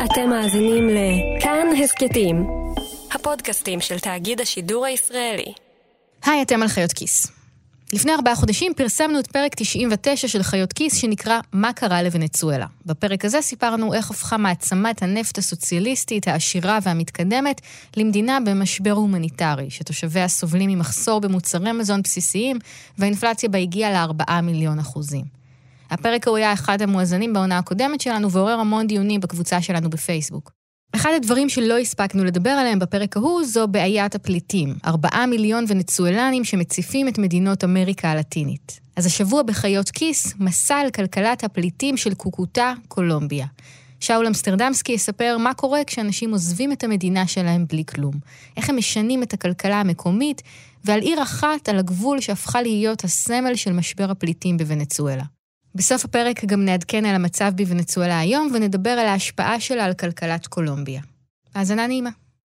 אתם מאזינים לכאן הסקטים, הפודקאסטים של תאגיד השידור הישראלי. היי, אתם על חיות כיס. לפני 4 חודשים פרסמנו את פרק 99 של חיות כיס שנקרא מה קרה לוונצואלה. בפרק הזה סיפרנו איך הפכה מעצמת הנפט הסוציאליסטית, העשירה והמתקדמת למדינה במשבר הומניטרי, שתושביה סובלים ממחסור במוצרי מזון בסיסיים, והאינפלציה בה הגיעה ל4 מיליון אחוזים. הפרק הוא היה אחד המואזנים בעונה הקודמת שלנו ועורר המון דיונים בקבוצה שלנו בפייסבוק. אחד הדברים שלא הספקנו לדבר עליהם בפרק ההוא זו בעיית הפליטים, 4 מיליון ונצואלנים שמציפים את מדינות אמריקה הלטינית. אז השבוע בחיות כיס, מסע על כלכלת הפליטים של קוקוטה, קולומביה. שאול אמסטרדמסקי יספר מה קורה כשאנשים עוזבים את המדינה שלהם בלי כלום. איך הם משנים את הכלכלה המקומית, ועל עיר אחת על הגבול שהפכה להיות הסמל של משבר הפליטים בוונצואלה. בסוף הפרק גם נעדכן על המצב בוונצואלה היום, ונדבר על ההשפעה שלה על כלכלת קולומביה. האזנה נעימה.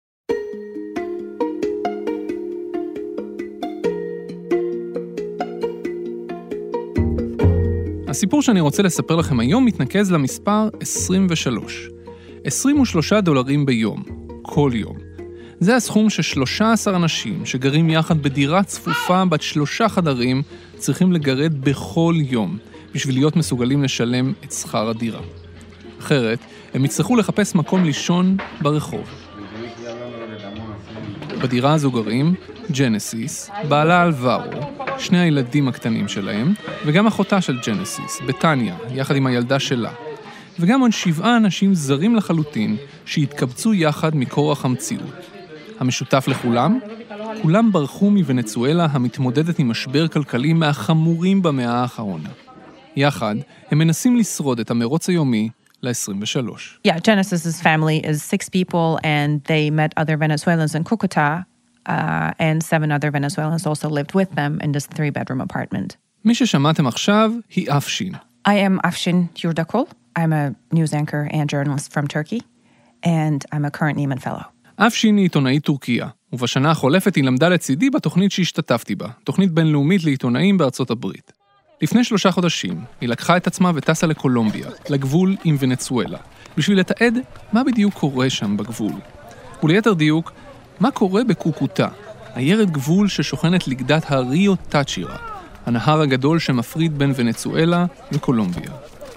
הסיפור שאני רוצה לספר לכם היום מתנקז למספר 23. $23 ביום, כל יום. זה הסכום ש13 אנשים שגרים יחד בדירה צפופה בת 3 חדרים צריכים לגרד בכל יום, בשביל להיות מסוגלים לשלם את שכר הדירה. אחרת, הם יצטרכו לחפש מקום לישון ברחוב. בדירה הזו גרים ג'נסיס, בעלה אלברו, 2 הילדים הקטנים שלהם, וגם אחותה של ג'נסיס, בטניה, יחד עם הילדה שלה. וגם עוד 7 אנשים זרים לחלוטין שהתקבצו יחד מכורח המציאות. המשותף לכולם? כולם ברחו מוונצואלה המתמודדת עם משבר כלכלי מהחמורים במאה האחרונה. יחד, הם מנסים לשרוד את המרוץ היומי ל-23. Yeah, Genesis's family is 6 people and they met other Venezuelans in Cúcuta and 7 other Venezuelans also lived with them in this 3-bedroom apartment. מי ששמעתם עכשיו היא אפשין. I am Afshin Yurdakul. I'm a news anchor and journalist from Turkey and I'm a current Nieman Fellow. אפשין היא עיתונאית טורקיה, ובשנה החולפת היא למדה לצידי בתוכנית שהשתתפתי בה, תוכנית בינלאומית לעיתונאים בארצות הברית. לפני 3 חודשים, היא לקחה את עצמה וטסה לקולומביה, לגבול עם ונצואלה, בשביל לתעד מה בדיוק קורה שם בגבול. וליתר דיוק, מה קורה בקוקוטה, עיירת גבול ששוכנת לגדת הריו טאצ'ירה, הנהר הגדול שמפריד בין ונצואלה וקולומביה.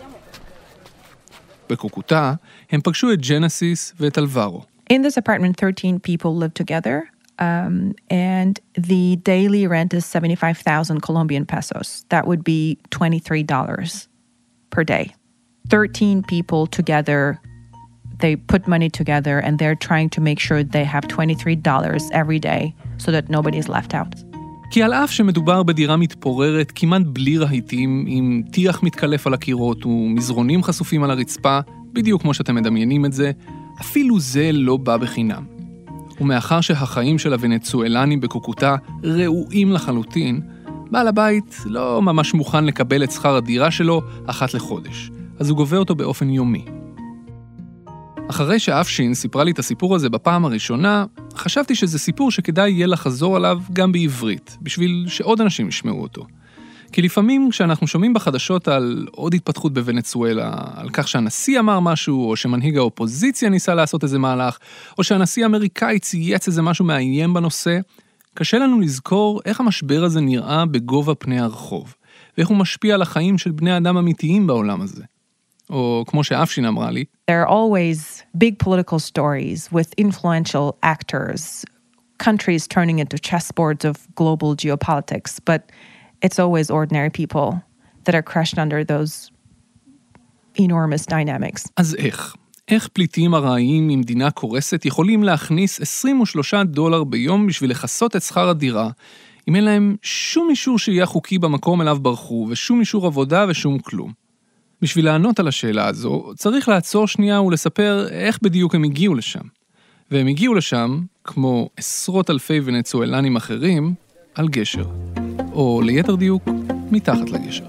בקוקוטה, הם פגשו את ג'נסיס ואת אלברו. In this apartment, 13 people live together. And the daily rent is 75,000 Colombian pesos. That would be $23 per day. 13 people together, they put money together and they're trying to make sure they have $23 every day so that nobody is left out. כי על אף שמדובר בדירה מתפוררת כמעט בלי רהיטים, עם טיח מתקלף על הקירות ומזרונים חשופים על הרצפה, בדיוק כמו שאתם מדמיינים את זה, אפילו זה לא בא בחינם. ומאחר שהחיים של הוונצואלנים בקוקוטה ראויים לחלוטין, בעל הבית לא ממש מוכן לקבל את שכר הדירה שלו אחת לחודש, אז הוא גובה אותו באופן יומי. אחרי שאפשין סיפרה לי את הסיפור הזה בפעם הראשונה, חשבתי שזה סיפור שכדאי יהיה לחזור עליו גם בעברית, בשביל שעוד אנשים ישמעו אותו. כי לפעמים כשאנחנו שומעים בחדשות על עוד התפתחות בוונצואלה, על כך שהנשיא אמר משהו, או שמנהיג האופוזיציה ניסה לעשות איזה מהלך, או שהנשיא האמריקאי צייץ איזה משהו מאיים בנושא, קשה לנו לזכור איך המשבר הזה נראה בגובה פני הרחוב, ואיך הוא משפיע על החיים של בני אדם אמיתיים בעולם הזה. או כמו שאפשין אמרה לי, There are always big political stories with influential actors, countries turning into chessboards of global geopolitics, but it's always ordinary people that are crushed under those enormous dynamics. אז איך פליטים ארעיים ממדינה קורסת יכולים להכניס $23 ביום בשביל לחסות את שכר הדירה, אם אין להם שום אישור שיהיה חוקי במקום אליו ברחו, ושום אישור עבודה ושום כלום? בשביל לענות על השאלה הזו, צריך לעצור שנייה ולספר איך בדיוק הם הגיעו לשם. והם הגיעו לשם, כמו עשרות אלפי ונצואלנים אחרים, על גשר. או ליתר דיוק, מתחת לגשר.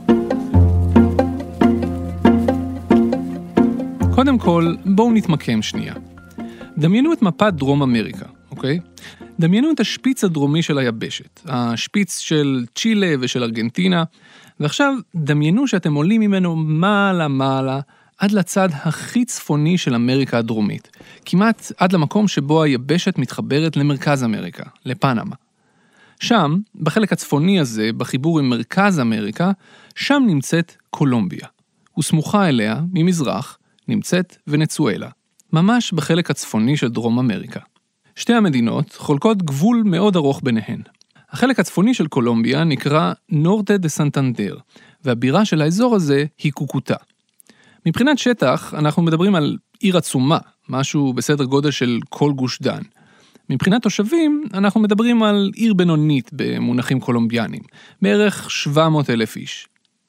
קודם כל, בואו נתמקם שנייה. דמיינו את מפת דרום אמריקה, אוקיי? דמיינו את השפיץ הדרומי של היבשת, השפיץ של צ'ילה ושל ארגנטינה, ועכשיו דמיינו שאתם עולים ממנו מעלה עד לצד הכי צפוני של אמריקה הדרומית, כמעט עד למקום שבו היבשת מתחברת למרכז אמריקה, לפנמה. שם, בחלק הצפוני הזה, בחיבור עם מרכז אמריקה, שם נמצאת קולומביה. וסמוכה אליה, ממזרח, נמצאת ונצואלה, ממש בחלק הצפוני של דרום אמריקה. שתי המדינות חולקות גבול מאוד ארוך ביניהן. החלק הצפוני של קולומביה נקרא נורטה דה סנטנדר, והבירה של האזור הזה היא קוקוטה. מבחינת שטח, אנחנו מדברים על עיר עצומה, משהו בסדר גודל של כל גוש דן. מבחינת תושבים, אנחנו מדברים על עיר בינונית במונחים קולומביאנים, בערך 700,000 איש.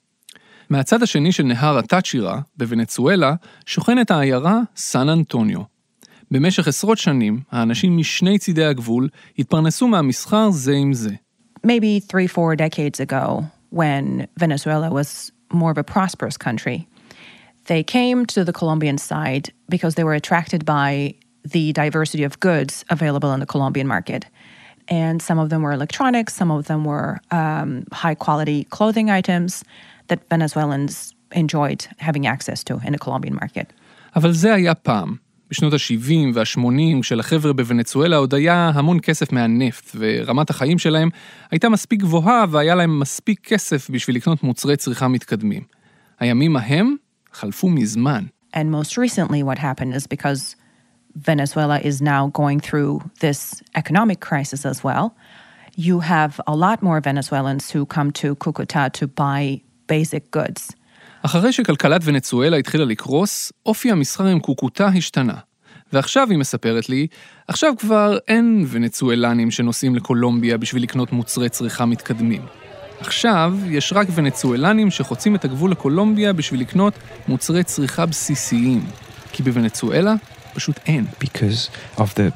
מהצד השני של נהר הטאצ'ירה, בוונצואלה, שוכנת העיירה סן אנטוניו. במשך עשרות שנים, האנשים משני צידי הגבול התפרנסו מהמסחר זה עם זה. Maybe 3-4 decades ago, when Venezuela was more of a prosperous country, they came to the Colombian side because they were attracted by the diversity of goods available in the Colombian market. And some of them were electronics, some of them were high-quality clothing items that Venezuelans enjoyed having access to in the Colombian market. אבל זה היה פעם. בשנות ה-70 וה-80, כשלחבר'ה בוונצואלה עוד היה המון כסף מהנפט, ורמת החיים שלהם הייתה מספיק גבוהה, והיה להם מספיק כסף בשביל לקנות מוצרי צריכה מתקדמים. הימים ההם חלפו מזמן. And most recently what happened is because Venezuela is now going through this economic crisis as well, you have a lot more Venezuelans who come to Cúcuta to buy basic goods. אחרי שכלכלת ונצואלה התחילה לקרוס, אופי המסחר עם קוקוטה השתנה. ועכשיו היא מספרת לי, עכשיו כבר אין ונצואלנים שנוסעים לקולומביה בשביל לקנות מוצרי צריכה מתקדמים. עכשיו יש רק ונצואלנים שחוצים את הגבול לקולומביה בשביל לקנות מוצרי צריכה בסיסיים. כי בוונצואלה פשוט אין. Because of the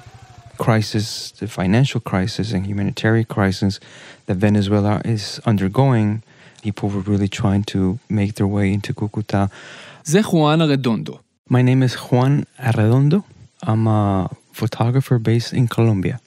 crisis, the financial crisis and humanitarian crisis that Venezuela is undergoing, people were really trying to make their way into Cúcuta. זה חואן ארדונדו. My name is Juan Arredondo. I'm a photographer based in Colombia.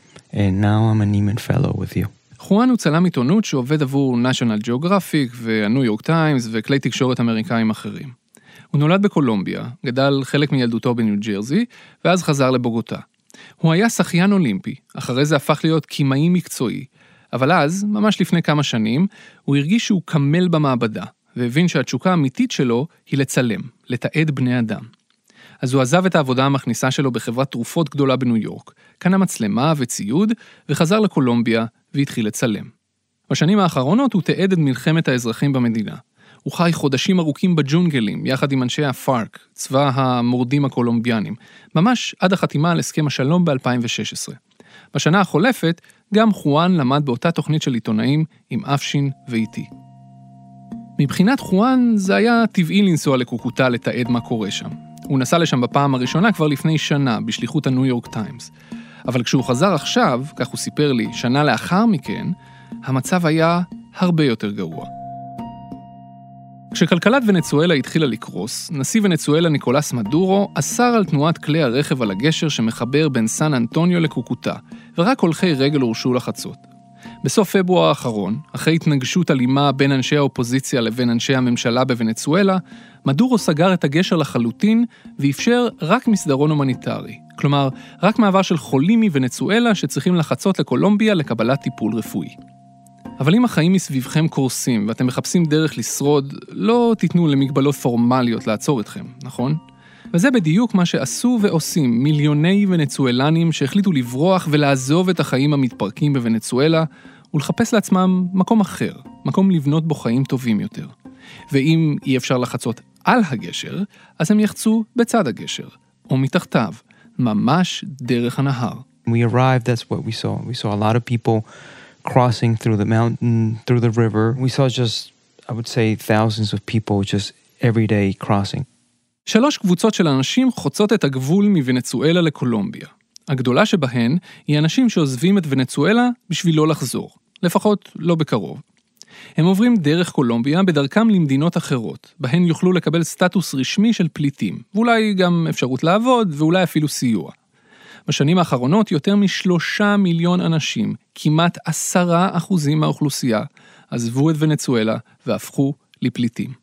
And now I'm a Neiman Fellow with you. חואן הוא צלם עיתונות שעובד עבור National Geographic והניו יורק טיימס וכלי תקשורת אמריקאים אחרים. הוא נולד בקולומביה, גדל חלק מילדותו בניו ג'רזי, ואז חזר לבוגוטה. הוא היה שחיין אולימפי, אחרי זה הפך להיות קימאי מקצועי, אבל אז, ממש לפני כמה שנים, הוא הרגיש שהוא קמל במעבדה, והבין שהתשוקה האמיתית שלו היא לצלם, לתעד בני אדם. אז הוא עזב את העבודה המכניסה שלו בחברת תרופות גדולה בניו יורק, קנה מצלמה וציוד, וחזר לקולומביה והתחיל לצלם. בשנים האחרונות הוא תעד את מלחמת האזרחים במדינה. הוא חי חודשים ארוכים בג'ונגלים, יחד עם אנשי הפארק, צבא המורדים הקולומביאנים, ממש עד החתימה על הסכם השלום ב-2016. בשנה החולפת, גם חואן למד באותה תוכנית של עיתונאים עם אפשין ואיתי. מבחינת חואן, זה היה טבעי לנסוע לקוקוטה לתעד מה קורה שם. הוא נסע לשם בפעם הראשונה כבר לפני שנה, בשליחות הניו יורק טיימס. אבל כשהוא חזר עכשיו, כך הוא סיפר לי, שנה לאחר מכן, המצב היה הרבה יותר גרוע. כשכלכלת ונצואלה התחילה לקרוס, נשיא ונצואלה ניקולס מדורו אסר על תנועת כלי הרכב על הגשר שמחבר בין סן אנטוניו לקוקוטה, ורק הולכי רגל הורשו לחצות. בסוף פברואר האחרון, אחרי התנגשות אלימה בין אנשי האופוזיציה לבין אנשי הממשלה בוונצואלה, מדורו סגר את הגשר לחלוטין ואפשר רק מסדרון הומניטרי. כלומר, רק מעבר של חולים מוונצואלה שצריכים לחצות לקולומביה לקבלת טיפול רפואי. אבל אם החיים מסביבכם קורסים ואתם מחפשים דרך לשרוד, לא תיתנו למגבלות פורמליות לעצור אתכם, נכון? וזה בדיוק מה שעשו ועושים מיליוני ונצואלנים שהחליטו לברוח ולעזוב את החיים המתפרקים בוונצואלה ולחפש לעצמם מקום אחר, מקום לבנות בו חיים טובים יותר. ואם אי אפשר לחצות על הגשר, אז הם יחצו בצד הגשר, או מתחתיו, ממש דרך הנהר. We arrived, that's what we saw. We saw a lot of people crossing through the mountain, through the river. We saw just, I would say, thousands of people just every day crossing. 3 קבוצות של אנשים חוצות את הגבול מוונצואלה לקולומביה. הגדולה שבהן היא אנשים שעוזבים את ונצואלה בשביל לא לחזור, לפחות לא בקרוב. הם עוברים דרך קולומביה בדרכם למדינות אחרות, בהן יוכלו לקבל סטטוס רשמי של פליטים, ואולי גם אפשרות לעבוד ואולי אפילו סיוע. בשנים האחרונות יותר מ3 מיליון אנשים, כמעט 10% מהאוכלוסייה, עזבו את ונצואלה והפכו לפליטים.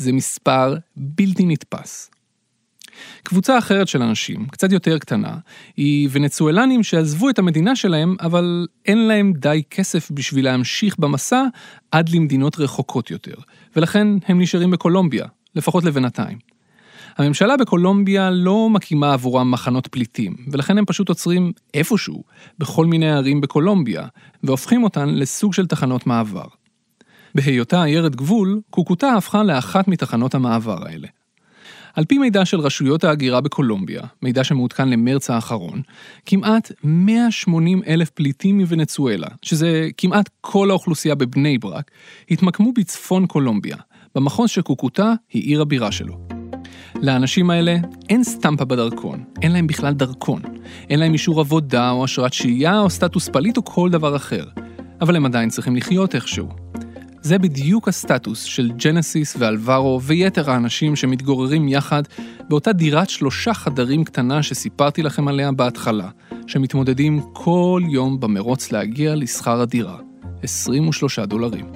זה מספר בלתי נתפס. קבוצה אחרת של אנשים, קצת יותר קטנה, היא ונצואלנים שעזבו את המדינה שלהם, אבל אין להם די כסף בשביל להמשיך במסע עד למדינות רחוקות יותר, ולכן הם נשארים בקולומביה, לפחות לבינתיים. הממשלה בקולומביה לא מקימה עבורם מחנות פליטים, ולכן הם פשוט עוצרים איפשהו, בכל מיני ערים בקולומביה, והופכים אותן לסוג של תחנות מעבר. בהיותה עיירת גבול, קוקוטה הפכה לאחת מתחנות המעבר האלה. על פי מידע של רשויות ההגירה בקולומביה, מידע שמעודכן למרץ האחרון, כמעט 180,000 פליטים מוונצואלה, שזה כמעט כל האוכלוסייה בבני ברק, התמקמו בצפון קולומביה, במחוז שקוקוטה היא עיר הבירה שלו. לאנשים האלה אין סטמפה בדרכון, אין להם בכלל דרכון, אין להם אישור עבודה או אשרת שהייה או סטטוס פליט או כל דבר אחר, אבל הם עדיין צריכים לחיות איכשהו. זה בדיוק הסטטוס של ג'נסיס ואלברו ויתר האנשים שמתגוררים יחד באותה דירת 3 חדרים קטנה שסיפרתי לכם עליה בהתחלה, שמתמודדים כל יום במרוץ להגיע לשכר הדירה, $23.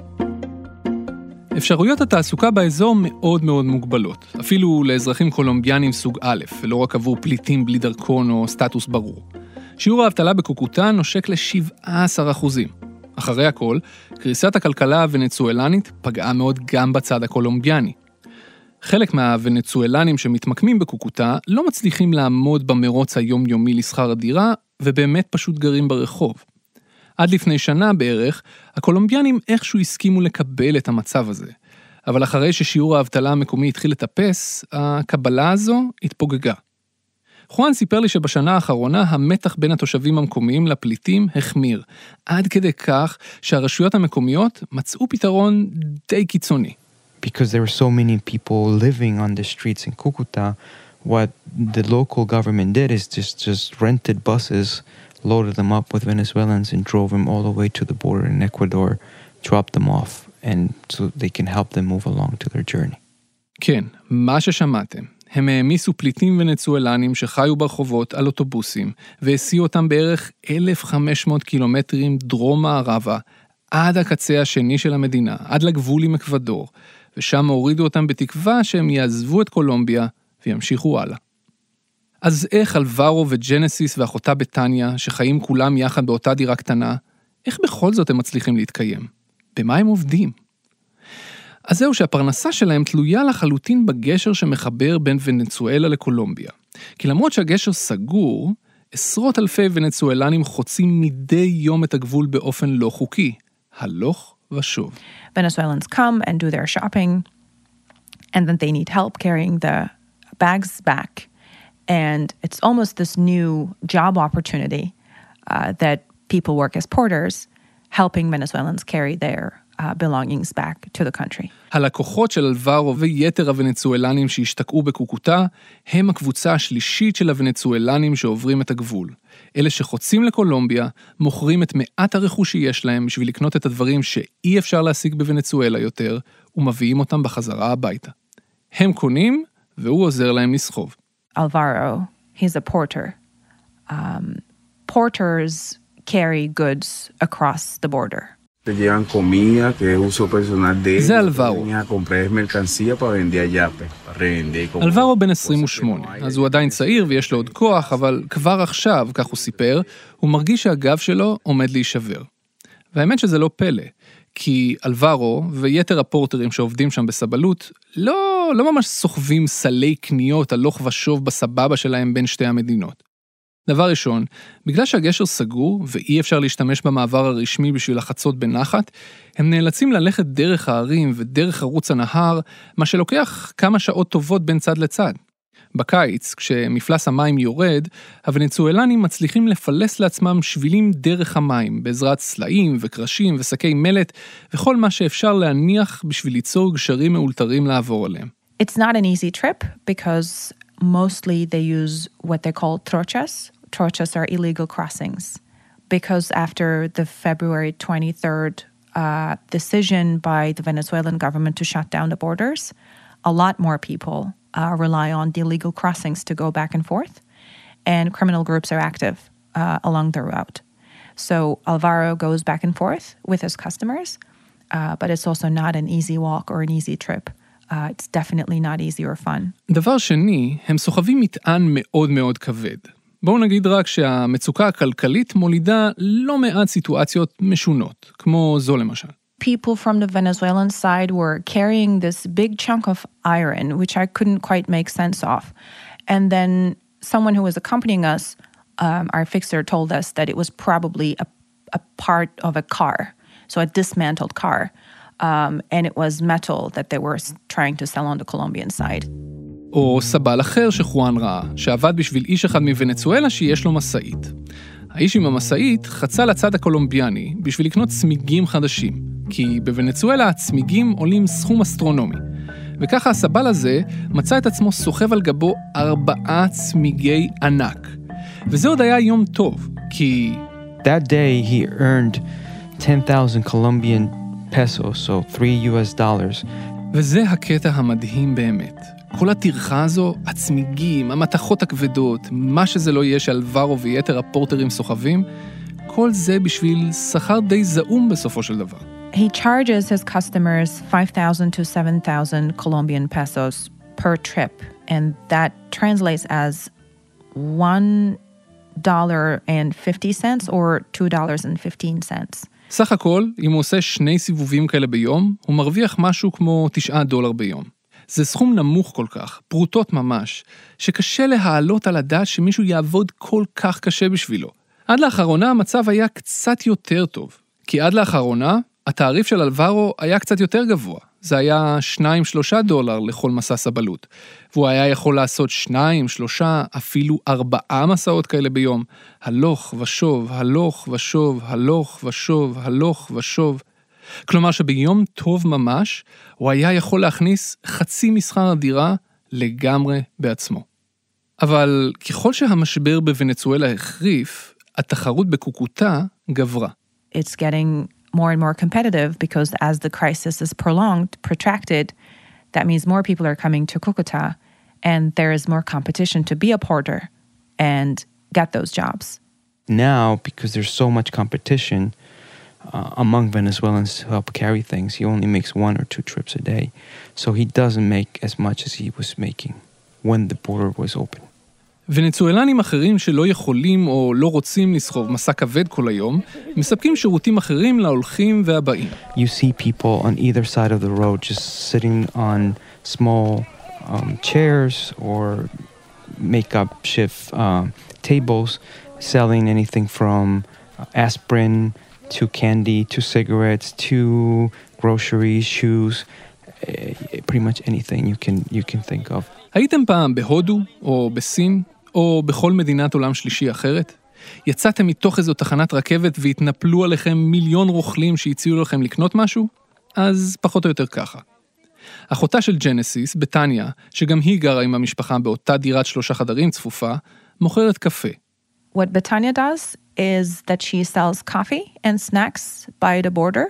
אפשרויות התעסוקה באזור מאוד מאוד מוגבלות, אפילו לאזרחים קולומביאנים סוג א', ולא רק עבור פליטים בלי דרכון או סטטוס ברור. שיעור האבטלה בקוקוטה נושק ל-17%. אחרי הכל, קריסת הכלכלה הוונצואלנית פגעה מאוד גם בצד הקולומביאני. חלק מהוונצואלנים שמתמקמים בקוקוטה לא מצליחים לעמוד במרוץ היומיומי לשכר הדירה, ובאמת פשוט גרים ברחוב. עד לפני שנה בערך, הקולומביאנים איכשהו הסכימו לקבל את המצב הזה. אבל אחרי ששיעור האבטלה המקומי התחיל לטפס, הקבלה הזו התפוגגה. חואן סיפר לי שבשנה האחרונה המתח בין התושבים המקומיים לפליטים החמיר, עד כדי כך שהרשויות המקומיות מצאו פתרון די קיצוני. Because there were so many people living on the streets in Cucuta, what the local government did is just rented buses, loaded them up with Venezuelans and drove them all the way to the border in Ecuador, dropped them off, and so they can help them move along to their journey. כן, מה ששמעתם. הם העמיסו פליטים ונצואלנים שחיו ברחובות על אוטובוסים, והסיעו אותם בערך 1,500 קילומטרים דרום מערבה, עד הקצה השני של המדינה, עד לגבול עם אקוודור, ושם הורידו אותם בתקווה שהם יעזבו את קולומביה וימשיכו הלאה. אז איך אלברו וג'נסיס ואחותה בטניה, שחיים כולם יחד באותה דירה קטנה, איך בכל זאת הם מצליחים להתקיים? במה הם עובדים? אז זהו שהפרנסה שלהם תלויה לחלוטין בגשר שמחבר בין ונצואלה לקולומביה. כי למרות שהגשר סגור, עשרות אלפי ונצואלנים חוצים מדי יום את הגבול באופן לא חוקי, הלוך ושוב. Venezuelans come and do their shopping, and then they need help carrying the bags back. And it's almost this new job opportunity that people work as porters, helping Venezuelans carry their belongings back to the country. הלקוחות של אלברו ויתר הוונצואלנים שהשתקעו בקוקוטה, הם הקבוצה השלישית של הוונצואלנים שעוברים את הגבול. אלה שחוצים לקולומביה, מוכרים את מעט הרכוש שיש להם בשביל לקנות את הדברים שאי אפשר להשיג בוונצואלה יותר, ומביאים אותם בחזרה הביתה. הם קונים, והוא עוזר להם לסחוב. Alvaro, he's a porter. Porters carry goods across the border. זה אלברו. אלברו בן 28, אז הוא עדיין צעיר ויש לו עוד כוח, אבל כבר עכשיו, כך הוא סיפר, הוא מרגיש שהגב שלו עומד להישבר. והאמת שזה לא פלא, כי אלברו ויתר הפורטרים שעובדים שם בסבלות, לא ממש סוחבים סלי קניות הלוך ושוב בסבבה שלהם בין שתי המדינות. דבר ראשון, בגלל שהגשר סגור ואי אפשר להשתמש במעבר הרשמי בשביל לחצות בנחת, הם נאלצים ללכת דרך הערים ודרך ערוץ הנהר, מה שלוקח כמה שעות טובות בין צד לצד. בקיץ, כשמפלס המים יורד, הוונצואלנים מצליחים לפלס לעצמם שבילים דרך המים, בעזרת סלעים וקרשים ושקי מלט, וכל מה שאפשר להניח בשביל ליצור גשרים מאולתרים לעבור עליהם. It's not an easy trip because mostly they use what they call trochas. Trochas are illegal crossings. Because after the February 23rd decision by the Venezuelan government to shut down the borders, a lot more people rely on the illegal crossings to go back and forth, and criminal groups are active along the route. So Alvaro goes back and forth with his customers, but it's also not an easy walk or an easy trip It's definitely not easy or fun. דבר שני, הם סוחבים מטען מאוד מאוד כבד. בואו נגיד רק שהמצוקה הכלכלית מולידה לא מעט סיטואציות משונות, כמו זו למשל. People from the Venezuelan side were carrying this big chunk of iron, which I couldn't quite make sense of. And then someone who was accompanying us, our fixer, told us that it was probably a part of a car, so a dismantled car. And it was metal that they were trying to sell on the Colombian side. או סבל אחר שחואן ראה, שעבד בשביל איש אחד מוונצואלה שיש לו מסעית. האיש עם המסעית חצה לצד הקולומביאני בשביל לקנות צמיגים חדשים, כי בוונצואלה הצמיגים עולים סכום אסטרונומי. וככה הסבל הזה מצא את עצמו סוחב על גבו 4 צמיגי ענק. וזה עוד היה יום טוב, כי... That day he earned 10,000 Colombian pesos, so $3. וזה הקטע המדהים באמת. כל הטרחה הזו, הצמיגים, המתכות הכבדות, מה שזה לא יהיה שאלברו ויתר הפורטרים סוחבים, כל זה בשביל שכר די זעום בסופו של דבר. He charges his customers 5,000 to 7,000 Colombian pesos per trip, and that translates as $1.50 or $2.15. סך הכל, אם הוא עושה 2 סיבובים כאלה ביום, הוא מרוויח משהו כמו $9 ביום. זה סכום נמוך כל כך, פרוטות ממש, שקשה להעלות על הדעת שמישהו יעבוד כל כך קשה בשבילו. עד לאחרונה המצב היה קצת יותר טוב, כי עד לאחרונה התעריף של אלברו היה קצת יותר גבוה. זה היה $2-3 לכל מסע סבלות, והוא היה יכול לעשות 2, 3, אפילו 4 מסעות כאלה ביום, הלוך ושוב, הלוך ושוב, הלוך ושוב, הלוך ושוב. כלומר שביום טוב ממש, הוא היה יכול להכניס חצי משכר הדירה לגמרי בעצמו. אבל ככל שהמשבר בוונצואלה החריף, התחרות בקוקוטה גברה. It's getting more and more competitive because as the crisis is protracted, that means more people are coming to Cúcuta and there is more competition to be a porter and get those jobs. Now, because there's so much competition among Venezuelans to help carry things, he only makes 1 or 2 trips a day. So he doesn't make as much as he was making when the border was open. ונצואלנים אחרים שלא יכולים או לא רוצים לסחוב מסע כבד כל היום, מספקים שירותים אחרים להולכים והבאים. You see people on either side of the road just sitting on small chairs or makeup shift tables, selling anything from aspirin to candy, to cigarettes, to groceries, shoes, pretty much anything you can think of. הייתם פעם בהודו או בסין או בכל מדינת עולם שלישי אחרת? יצאתם מתוך איזו תחנת רכבת והתנפלו עליכם מיליון רוכלים שהציעו לכם לקנות משהו? אז פחות או יותר ככה. אחותה של ג'נסיס, בטניה, שגם היא גרה עם המשפחה באותה דירת 3 חדרים צפופה, מוכרת קפה. What Betania does is that she sells coffee and snacks by the border.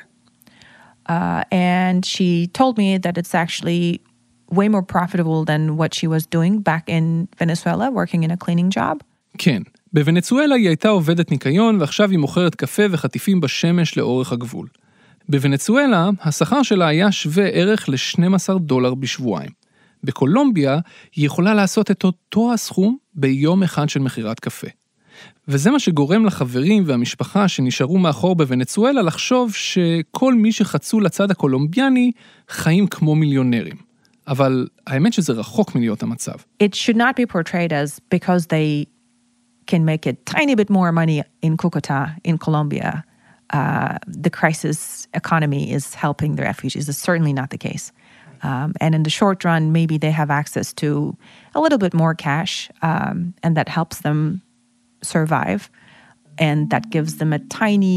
And she told me that it's actually way more profitable than what she was doing back in Venezuela, working in a cleaning job. כן, בוונצואלה היא הייתה עובדת ניקיון, ועכשיו היא מוכרת קפה וחטיפים בשמש לאורך הגבול. בוונצואלה, השכר שלה היה שווה ערך $12 בשבועיים. בקולומביה, היא יכולה לעשות את אותו הסכום ביום אחד של מחירת קפה. וזה מה שגורם לחברים והמשפחה שנשארו מאחור בוונצואלה לחשוב שכל מי שחצו לצד הקולומביאני חיים כמו מיליונרים. אבל האמת שזה רחוק מלהיות המצב. It should not be portrayed as because they can make a tiny bit more money in Cúcuta, in Colombia. The crisis economy is helping the refugees. It's certainly not the case. And in the short run, maybe they have access to a little bit more cash, and that helps them survive. And that gives them a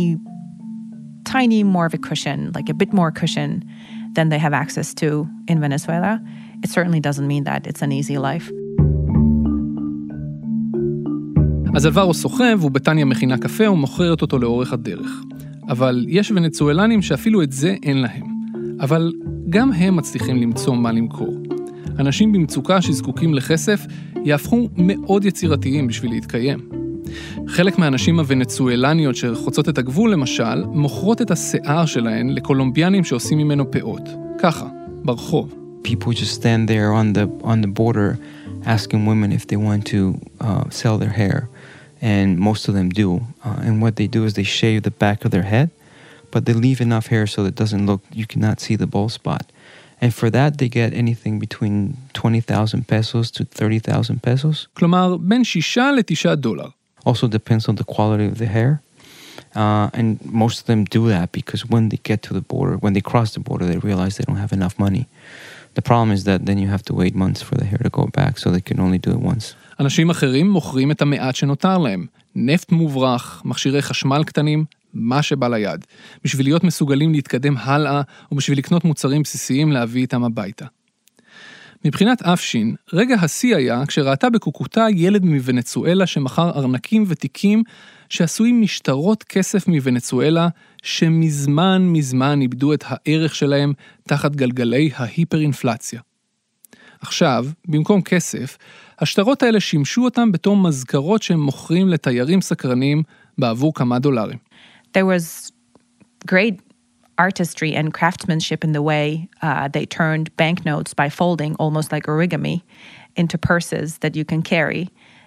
tiny more of a cushion, like a bit more cushion than they have access to in Venezuela. It certainly doesn't mean that it's an easy life. אז אלברו סוחב ובטניה מכינה קפה ומוכרת אותו לאורך הדרך. אבל יש ונצואלנים שאפילו את זה אין להם. אבל גם הם מצליחים למצוא מה למכור. אנשים במצוקה שזקוקים לכסף יהפכו מאוד יצירתיים בשביל להתקיים. חלק מהאנשים הוונצואלניות שחוצות את הגבול למשל, מוכרות את השיער שלהן לקולומביאנים שעושים ממנו פאות. ככה, ברחוב. people just stand there on the border asking women if they want to sell their hair, and most of them do. And what they do is they shave the back of their head, but they leave enough hair so that it doesn't look, you cannot see the bald spot. And for that, they get anything between 20,000 pesos to 30,000 pesos. כלומר, בין $6 ל-9. Also depends on the quality of the hair. And most of them do that because when they get to the border, when they cross the border, they realize they don't have enough money. The problem is that then you have to wait months for the hair to go back, so they can only do it once. אנשים אחרים מוכרים את המעט שנותר להם. נפט מוברח, מכשירי חשמל קטנים, מה שבא ליד. בשביל להיות מסוגלים להתקדם הלאה, ובשביל לקנות מוצרים בסיסיים להביא איתם הביתה. מבחינת אפשין, רגע השיא היה כשראתה בקוקוטה ילד מוונצואלה שמכר ארנקים ותיקים שעשויים משטרות כסף מוונצואלה שמזמן איבדו את הערך שלהם תחת גלגלי ההיפר-אינפלציה. עכשיו, במקום כסף, השטרות האלה שימשו אותם בתור מזכרות שהם מוכרים לתיירים סקרנים בעבור כמה דולרים. There was great artistry and craftsmanship in the way they turned banknotes by folding, almost like origami, into purses that you can carry.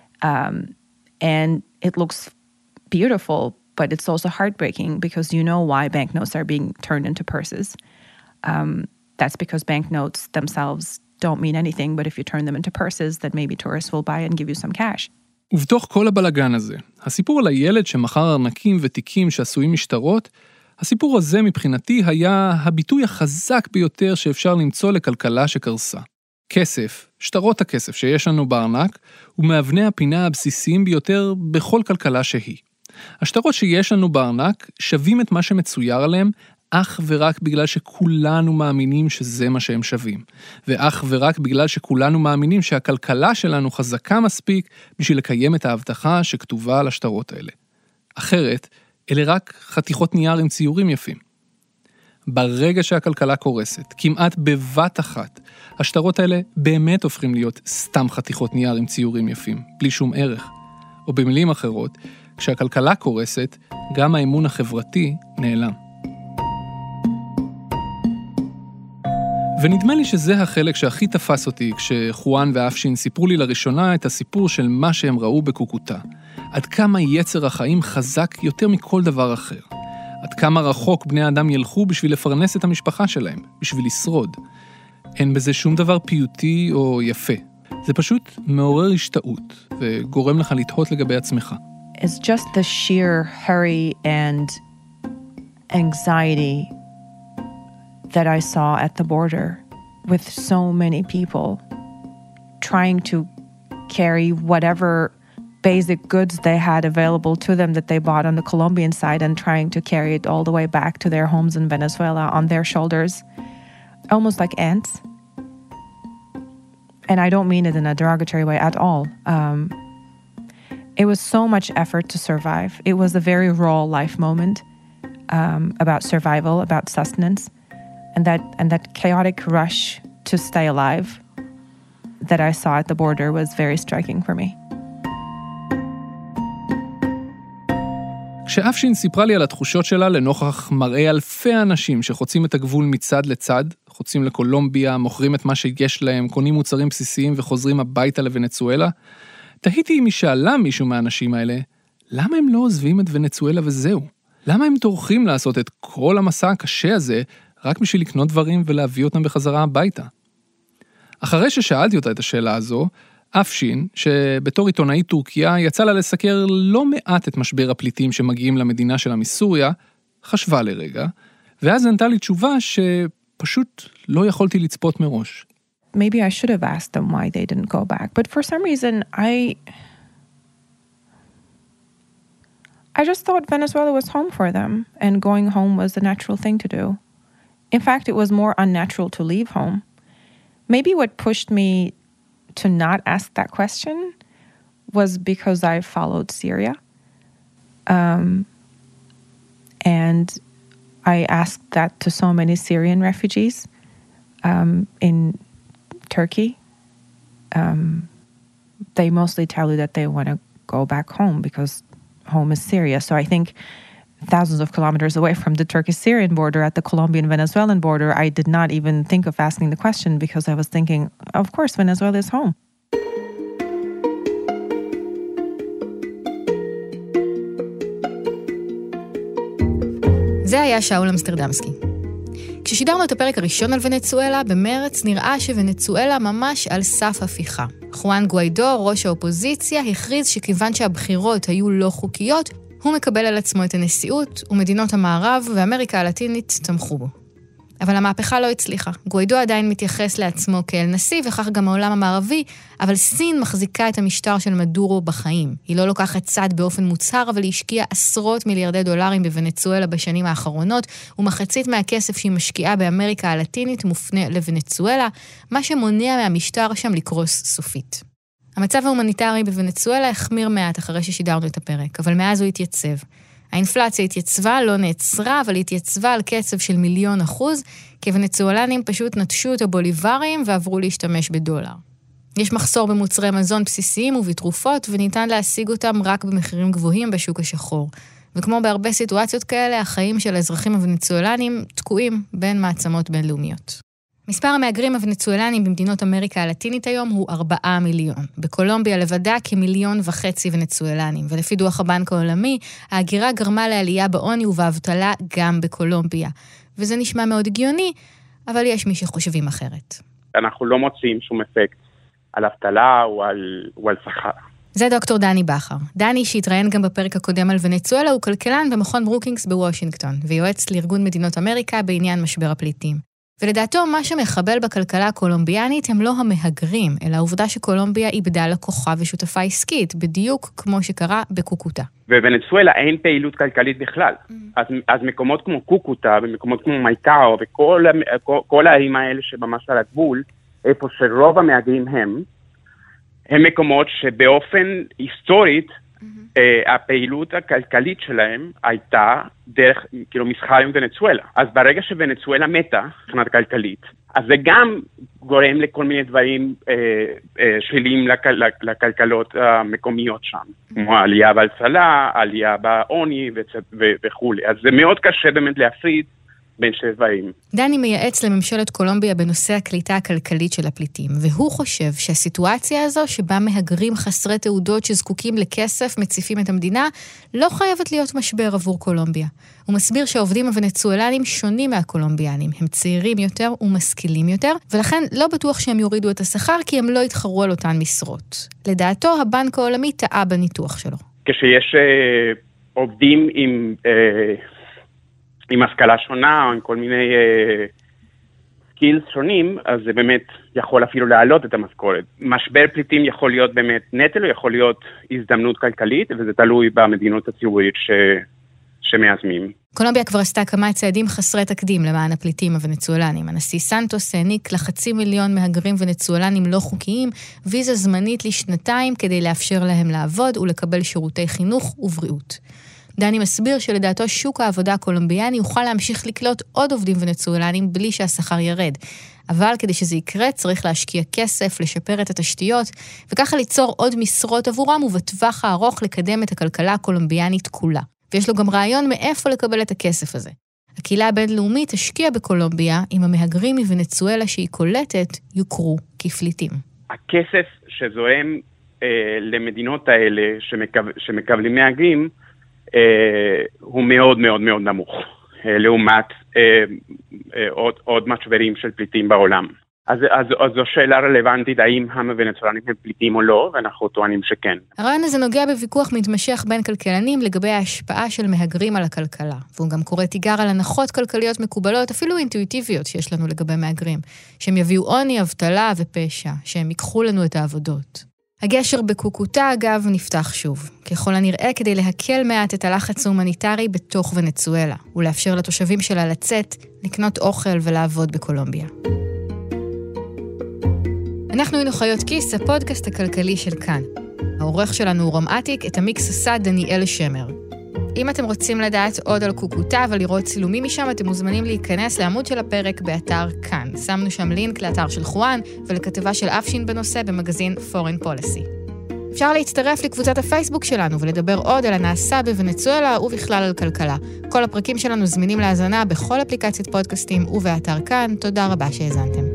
And it looks beautiful, but it's also heartbreaking because you know why banknotes are being turned into purses. That's because banknotes themselves don't mean anything, but if you turn them into purses, then maybe tourists will buy and give you some cash. ובתוך כל הבלגן הזה, הסיפור על הילד שמכר ארנקים ותיקים שעשויים משטרות, הסיפור הזה מבחינתי היה הביטוי החזק ביותר שאפשר למצוא לכלכלה שקרסה. כסף, שטרות הכסף שיש לנו בארנק, הוא מאבני הפינה הבסיסיים ביותר בכל כלכלה שהיא. השטרות שיש לנו בארנק שווים את מה שמצויר עליהם, אך ורק בגלל שכולנו מאמינים שזה מה שהם שווים. ואך ורק בגלל שכולנו מאמינים שהכלכלה שלנו חזקה מספיק בשביל לקיים את ההבטחה שכתובה על השטרות האלה. אחרת, אלה רק חתיכות נייר עם ציורים יפים. ברגע שהכלכלה קורסת, כמעט בבת אחת, השטרות האלה באמת הופכים להיות סתם חתיכות נייר עם ציורים יפים, בלי שום ערך. או במילים אחרות, כשהכלכלה קורסת, גם האמון החברתי נעלם. ונדמה לי שזה החלק שהכי תפס אותי כשחואן ואפשין סיפרו לי לראשונה את הסיפור של מה שהם ראו בקוקוטה. עד כמה יצר החיים חזק יותר מכל דבר אחר. עד כמה רחוק בני האדם ילכו בשביל לפרנס את המשפחה שלהם, בשביל לשרוד. אין בזה שום דבר פיוטי או יפה. זה פשוט מעורר השתאות וגורם לך לתהות לגבי עצמך. It's just the sheer hurry and anxiety that I saw at the border with so many people trying to carry whatever basic goods they had available to them that they bought on the Colombian side and trying to carry it all the way back to their homes in Venezuela on their shoulders, almost like ants. And I don't mean it in a derogatory way at all. It was so much effort to survive. It was a very raw life moment about survival, about sustenance. And that chaotic rush to stay alive that I saw at the border was very striking for me. כשאפשין סיפרה לי על התחושות שלה לנוכח מראה אלפי אנשים שחוצים את הגבול מצד לצד, חוצים לקולומביה, מוכרים את מה שיש להם, קונים מוצרים בסיסיים וחוזרים הביתה לוונצואלה, תהיתי אם היא שאלה מישהו מהאנשים האלה, למה הם לא עוזבים את ונצואלה וזהו? למה הם טורחים לעשות את כל המסע הקשה הזה רק בשביל לקנות דברים ולהביא אותם בחזרה הביתה? אחרי ששאלתי אותה את השאלה הזו, אפשין, שבתור עיתונאית טורקיה יצא לה לסקר לא מעט את משבר הפליטים שמגיעים למדינה שלה מסוריה, חשבה לרגע, ואז ענתה לי תשובה שפשוט לא יכולתי לצפות מראש. Maybe I should have asked them why they didn't go back, but for some reason I just thought Venezuela was home for them, and going home was the natural thing to do. In fact, it was more unnatural to leave home. Maybe what pushed me to not ask that question was because I followed Syria. And I asked that to so many Syrian refugees in Turkey. They mostly tell you that they want to go back home because home is Syria. So I think thousands of kilometers away from the Turkish-Syrian border at the Colombian-Venezuelan border, I did not even think of asking the question because I was thinking, of course, Venezuela is home. זה היה שאול אמסטרדמסקי. כששידרנו את הפרק הראשון על ונצואלה, במרץ נראה שוונצואלה ממש על סף הפיכה. חואן גואידו, ראש האופוזיציה, הכריז שכיוון שהבחירות היו לא חוקיות, הוא מקבל על עצמו את הנשיאות, ומדינות המערב ואמריקה הלטינית תמכו בו. אבל המהפכה לא הצליחה. גואידו עדיין מתייחס לעצמו כאל נשיא, וכך גם העולם המערבי, אבל סין מחזיקה את המשטר של מדורו בחיים. היא לא לוקחת צד באופן מוצהר, אבל היא השקיעה עשרות מיליארדי דולרים בוונצואלה בשנים האחרונות, ומחצית מהכסף שהיא משקיעה באמריקה הלטינית מופנה לוונצואלה, מה שמונע מהמשטר שם לקרוס סופית. המצב ההומניטרי בוונצואלה החמיר מעט אחרי ששידרנו את הפרק, אבל מאז הוא התייצב. האינפלציה התייצבה, לא נעצרה, אבל התייצבה על קצב של 1,000,000%, כי ונצואלנים פשוט נטשו את הבוליברים ועברו להשתמש בדולר. יש מחסור במוצרי מזון בסיסיים ובתרופות, וניתן להשיג אותם רק במחירים גבוהים בשוק השחור. וכמו בהרבה סיטואציות כאלה, החיים של האזרחים הוונצואלנים תקועים בין מעצמות בינלאומיות. מספר המהגרים הוונצואלנים במדינות אמריקה הלטינית היום הוא 4 מיליון. בקולומביה לבדה כ1.5 מיליון ונצואלנים, ולפי דוח הבנק העולמי, ההגירה גרמה לעלייה בעוני ובאבטלה גם בקולומביה. וזה נשמע מאוד הגיוני, אבל יש מי שחושבים אחרת. אנחנו לא מוצאים שום אפקט על אבטלה או על שכר. זה דוקטור דני בכר. דני שהתראיין גם בפרק הקודם על ונצואלה, הוא כלכלן במכון ברוקינגס בוושינגטון, ויועץ לארגון מדינות אמריקה בעניין משבר הפליטים. ולדעתו, מה שמחבל בכלכלה הקולומביאנית הם לא המהגרים, אלא העובדה שקולומביה איבדה לקוחה ושותפה עסקית, בדיוק כמו שקרה בקוקוטה. בוונצואלה אין פעילות כלכלית בכלל. אז מקומות כמו קוקוטה, ומקומות כמו מייקאו, וכל הערים האלה שממש על הגבול, איפה שרוב המהגרים הם מקומות שבאופן היסטורית, הפעילות הכלכלית שלהם הייתה דרך, כאילו, מסחר עם ונצואלה. אז ברגע שוונצואלה מתה, מבחינת כלכלית, אז זה גם גורם לכל מיני דברים שליליים לכלכלות המקומיות שם. כמו העלייה באבטלה, העלייה בעוני וכו'. אז זה מאוד קשה באמת להפריד בין שני דברים. דני מייעץ לממשלת קולומביה בנושא הקליטה הכלכלית של הפליטים, והוא חושב שהסיטואציה הזו שבה מהגרים חסרי תעודות שזקוקים לכסף מציפים את המדינה, לא חייבת להיות משבר עבור קולומביה. הוא מסביר שהעובדים הוונצואלנים שונים מהקולומביאנים, הם צעירים יותר ומשכילים יותר, ולכן לא בטוח שהם יורידו את השכר כי הם לא יתחרו על אותן משרות. לדעתו, הבנק העולמי טעה בניתוח שלו. כשיש עובדים עם השכלה שונה, או עם כל מיני סקילס שונים, אז זה באמת יכול אפילו להעלות את המשכורת. משבר פליטים יכול להיות באמת נטל, או יכול להיות הזדמנות כלכלית, וזה תלוי במדינות הציבורית שמיישמים. קולומביה כבר עשתה כמה צעדים חסרי תקדים למען הפליטים הוונצואלנים. הנשיא סנטוס העניק ל500,000 מהגרים ונצואלנים לא חוקיים, ויזה זמנית לשנתיים כדי לאפשר להם לעבוד ולקבל שירותי חינוך ובריאות. דני מסביר שלדעתו שוק העבודה הקולומביאני יוכל להמשיך לקלוט עוד עובדים ונצואלנים בלי שהשכר ירד. אבל כדי שזה יקרה צריך להשקיע כסף, לשפר את התשתיות, וככה ליצור עוד משרות עבורם ובטווח הארוך לקדם את הכלכלה הקולומביאנית כולה. ויש לו גם רעיון מאיפה לקבל את הכסף הזה. הקהילה הבינלאומית תשקיע בקולומביה אם המהגרים מוונצואלה שהיא קולטת יוכרו כפליטים. הכסף שזורם למדינות האלה שמקבלים מהגרים, הוא מאוד מאוד מאוד נמוך, לעומת עוד משברים של פליטים בעולם. אז זו שאלה רלוונטית, האם הוונצואלנים הם פליטים או לא, ואנחנו טוענים שכן. הרעיון הזה נוגע בוויכוח מתמשך בין כלכלנים לגבי ההשפעה של מהגרים על הכלכלה, והוא גם קורא תיגר על הנחות כלכליות מקובלות, אפילו אינטואיטיביות שיש לנו לגבי מהגרים, שהם יביאו עוני, אבטלה ופשע, שהם ייקחו לנו את העבודות. הגשר בקוקוטה, אגב, נפתח שוב, ככל הנראה כדי להקל מעט את הלחץ ההומניטרי בתוך ונצואלה, ולאפשר לתושבים שלה לצאת, לקנות אוכל ולעבוד בקולומביה. אנחנו היינו חיות כיס, הפודקאסט הכלכלי של כאן. העורך שלנו הוא רום עתיק, את המיקס עשה דניאל שמר. אם אתם רוצים לדעת עוד על קוקוטה ולראות צילומים משם, אתם מוזמנים להיכנס לעמוד של הפרק באתר כאן. שמנו שם לינק לאתר של חואן ולכתבה של אפשין בנושא במגזין Foreign Policy. אפשר להצטרף לקבוצת הפייסבוק שלנו ולדבר עוד על הנעשה בוונצואלה ובכלל על כלכלה. כל הפרקים שלנו זמינים להאזנה בכל אפליקציית פודקאסטים ובאתר כאן. תודה רבה שהאזנתם.